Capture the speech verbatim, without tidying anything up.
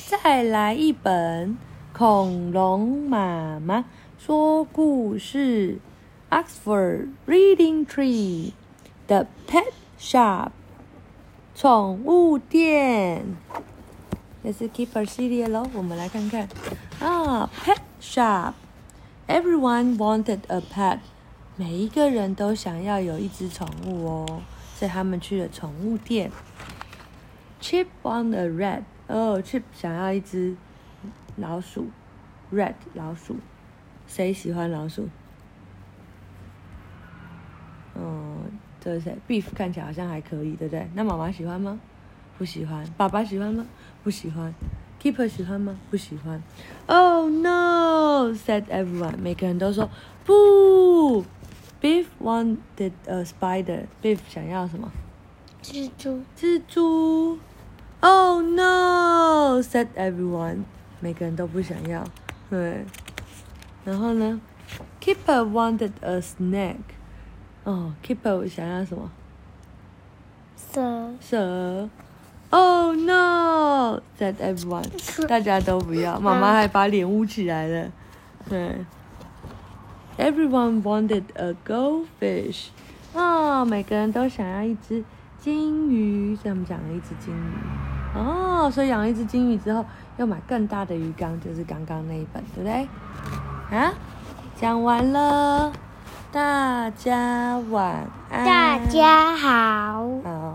再来一本恐龙妈妈说故事 Oxford Reading Tree The Pet Shop 宠物店，这是 Keeper 系列咯，我们来看看啊 Pet Shop Everyone wanted a pet 每一个人都想要有一只宠物哦，所以他们去了宠物店。 Chip wanted a rat 哦 Chip 想要一只老鼠 Rat 老鼠，谁喜欢老鼠？嗯，这是谁 Beef 看起来好像还可以，对不对？那妈妈喜欢吗？不喜欢。爸爸喜欢吗？不喜欢。Keeper 喜欢吗？不喜欢。Oh no! said everyone. 每个人都说不。Beef wanted a spider. Beef 想要什么？ 蜘蛛。 蜘蛛。Oh no! said everyone. 每个人都不想要。对。然后呢 ？Keeper wanted a snake. 哦 ，Keeper 想要什么？ 蛇。 蛇。Oh no! said everyone. 大家都不要，妈妈还把脸捂起来了。对。Everyone wanted a goldfish. 哦，每个人都想要一只金鱼，所以他们养了一只金鱼。哦，所以养了一只金鱼之后，要买更大的鱼缸，就是刚刚那一本，对不对？啊，讲完了，大家晚安。 大家好。 好。